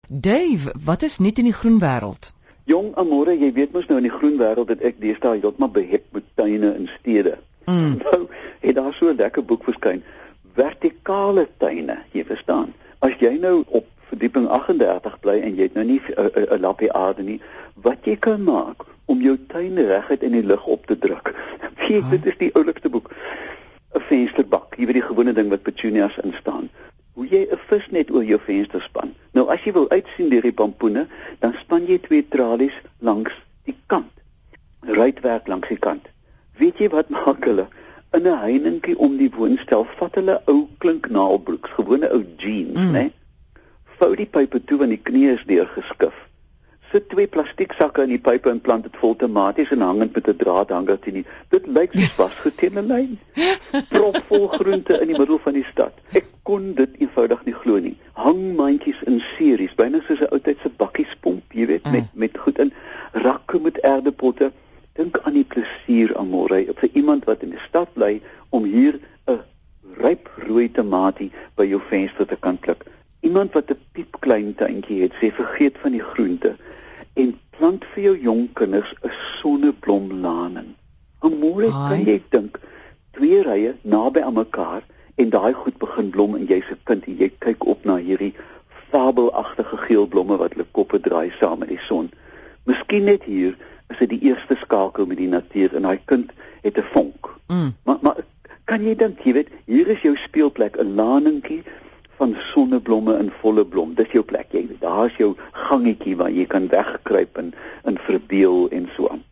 Dave, wat is nuut in die groen wêreld? Jong, Amore, jy weet mos nou in die groen wêreld dat ek deesdae heeltemal behep met tuine en stede. Nou het daar so 'n lekker boek verskyn, vertikale tuine, jy verstaan. As jy nou op verdieping 38 bly en jy het nou nie 'n lappie aarde nie, wat jy kan maak om jou tuin reguit in die lug op te druk. Dit is die oulikste boek. 'n Vensterbak, jy weet die gewone ding wat petunias in staan. Hoe jy 'n visnet oor jou venster span. Nou as jy wil uitsien deur die pampoene, dan span jy 2 tralies langs die kant. Ruitwerk langs die kant. Weet jy wat maak hulle? In 'n heininkie om die woonstel vat hulle ou klinknaalbroeks, gewone ou jeans, né? Vou die pype toe want die knie is deurgeskif. Sit 2 plastieksakke in die pype en plant dit vol tomaties en hangend met 'n draadhanger teen die. Dit lyk soos vasgeteende lyn. Propvol groente in die middel van die stad. Ek kon dit eenvoudig nie glo nie. Hangmandjies in series, byna soos 'n ou tyd se bakkiespomp, jy weet, met goed in. Rakke met erdepotte. Dink aan die plesier, Amore, vir iemand wat in die stad bly om hier 'n ryp rooi tamatie by jou venster te kan pluk. Iemand wat 'n piepklein tuintjie het, sê vergeet van die groente en plant vir jou jong kinders 'n sonneblomlaning. Amore, kan jy dink 2 rye naby aan mekaar en daai goed begin blom en jy's 'n kind en jy kyk op na hierdie fabelagtige geel blomme wat hulle koppe draai saam met die son. Miskien net hier is dit die eerste skakel met die natuur en daai kind het 'n vonk. Maar kan jy dink, jy weet, hier is jou speelplek, 'n laningkie van sonneblomme in volle blom. Dis jou plek, jy weet. Daar is jou gangetjie waar jy kan wegkruip en verbeel en so aan.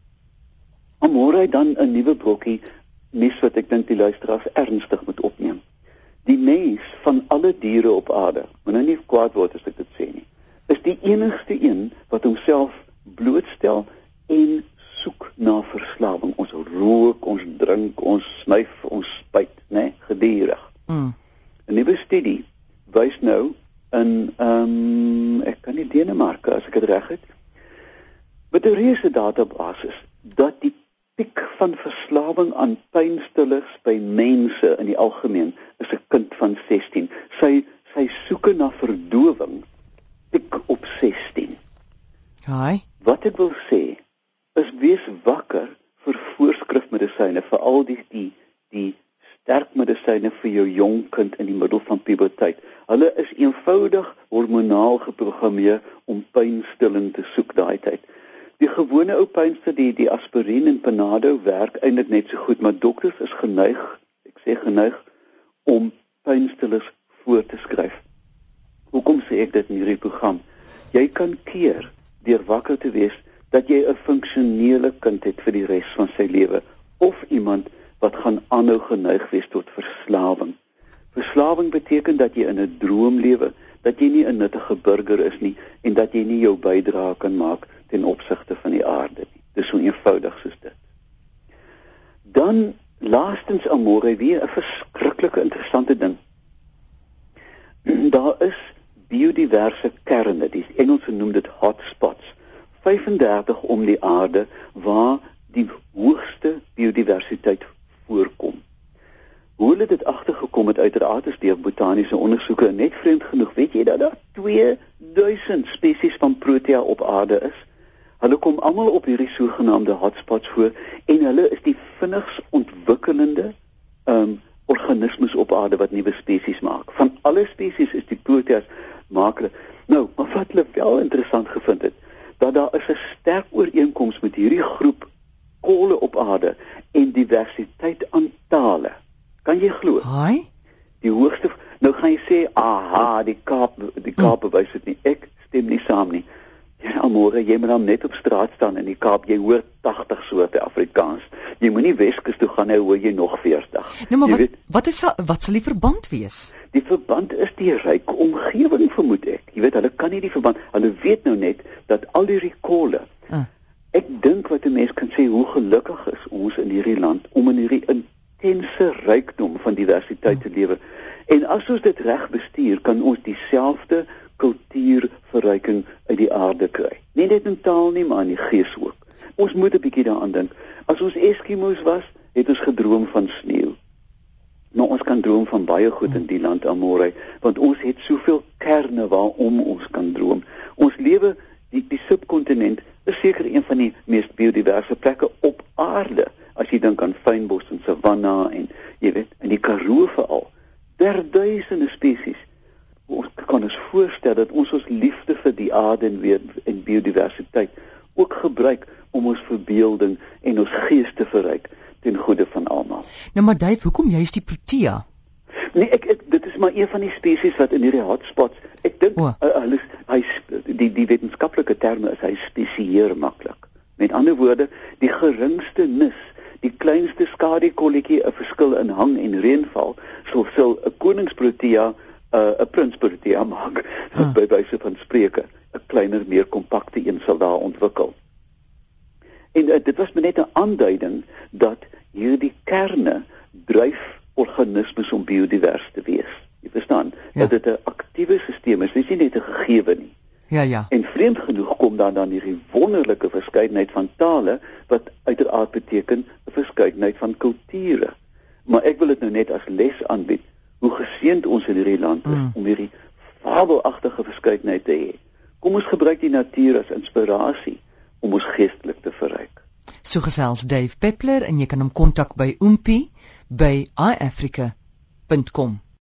Amore, dan 'n nuwe brokkie nuus wat ek dink die luisteraars ernstig moet opneem. Die mens van alle diere op aarde, moet nou nie kwaad word as ek dit sê nie, is die enigste een wat homself blootstel en soek na verslawing. Ons rook, ons drink, ons snuif, ons spuit, né, gedurig. 'n Nuwe studie wys nou in ek kan nie Denemarke as ek dit reg het, met 'n reuse databasis dat die piek van verslawing aan pynstillers by mense in die algemeen is 'n kind van 16. Sy soeke na verdowing piek op 16. Haai. Wat ek wil sê is wees wakker vir voorskrifmedisyne, veral die sterk medisyne vir jou jong kind in die middel van puberteit. Hulle is eenvoudig hormonaal geprogrammeer om pynstilling te soek daai tyd. Die gewone ou pynstiller, die aspirien en Panado werk eintlik net so goed, maar dokters is geneig om pynstillers voor te skryf. Hoekom sê ek dit in hierdie program? Jy kan keer deur wakker te wees dat jy 'n funksionele kind het vir die res van sy lewe, of iemand wat gaan aanhou geneig wees tot verslawing. Verslawing beteken dat jy in 'n droom lewe, dat jy nie 'n nuttige burger is nie en dat jy nie jou bydrae kan maak ten opsigte van die aarde nie. Dis so eenvoudig soos dit. Dan laastens, Amore, weer 'n verskriklike interessante ding. Daar is biodiverse kerne, die Engelse noem dit hotspots, 35 om die aarde waar die hoogste biodiversiteit voorkom. Hoe hulle dit agtergekom het, uiteraard is deur botaniese ondersoeke, en net vreemd genoeg, weet jy dat daar 2000 spesies van protea op aarde is? Hulle kom almal op hierdie sogenaamde hotspots voor en hulle is die vinnigst ontwikkelende organismes op aarde wat nuwe spesies maak. Van alle spesies is die proteas maak hulle. Nou, maar wat hulle wel interessant gevind het, dat daar is 'n sterk ooreenkoms met hierdie groep kolle op aarde en diversiteit aan tale. Kan jy glo? Haai. Die hoogste, nou gaan jy sê, aha, die Kaap bewys dit nie. Ek stem nie saam nie. Ja, Amore, jy moet dan net op straat staan in die Kaap, jy hoor 80 soorte Afrikaans. Jy moenie Weskus toe gaan, nou hoor jy nog 40. Nou, maar wat sal die verband wees? Die verband is die ryke omgewing, vermoed ek. Jy weet, hulle kan nie die verband, hulle weet nou net dat al die kolle. Ek dink wat 'n mens kan sê, hoe gelukkig is ons in hierdie land om in hierdie intense rykdom van diversiteit te lewe. En as ons dit reg bestuur, kan ons dieselfde kultuurverryking uit die aarde kry. Nie net in taal nie, maar in die gees ook. Ons moet 'n bietjie daaraan dink. As ons Eskimo's was, het ons gedroom van sneeu. Nou, ons kan droom van baie goed in die land, Amorey, want ons het soveel kerne waarom ons kan droom. Ons lewe, die subkontinent is seker een van die mees biodiverse plekke op aarde. As jy dink aan fynbos en savanna en jy weet, in die Karoo veral, duisende spesies. Ons kan ons voorstel dat ons liefde vir die aarde en biodiversiteit ook gebruik om ons verbeelding en ons gees te verryk ten goeie van almal. Nou maar Dave, hoekom juist die protea? Nee, dit is maar een van die spesies wat in hierdie hotspots, ek dink, die wetenskaplike terme is hy spesieer maklik. Met ander woorde, die geringste nis, die kleinste skadukolletjie 'n verskil in hang en reënval, sal 'n koningsprotea 'n prinsprotea maak, by wyse van spreke, 'n kleiner, meer kompakte een sal daar ontwikkel. En dit was net 'n aanduiding dat hierdie kerne dryf organismes om biodivers te wees. Jy verstaan, dat dit 'n aktiewe stelsel is, dit is nie net 'n gegewe nie. Ja. En vreemd genoeg kom dan hierdie wonderlike verskeidenheid van tale, wat uiteraard beteken 'n verskeidenheid van kulture. Maar ek wil dit nou net as les aanbied, hoe geseënd ons in hierdie land is om hierdie fabelagtige verskeidenheid te hê. Kom ons gebruik die natuur as inspirasie om ons geestelik te verryk. So gesels Dave Peppler en jy kan hom kontak by oompie by iafrica.com.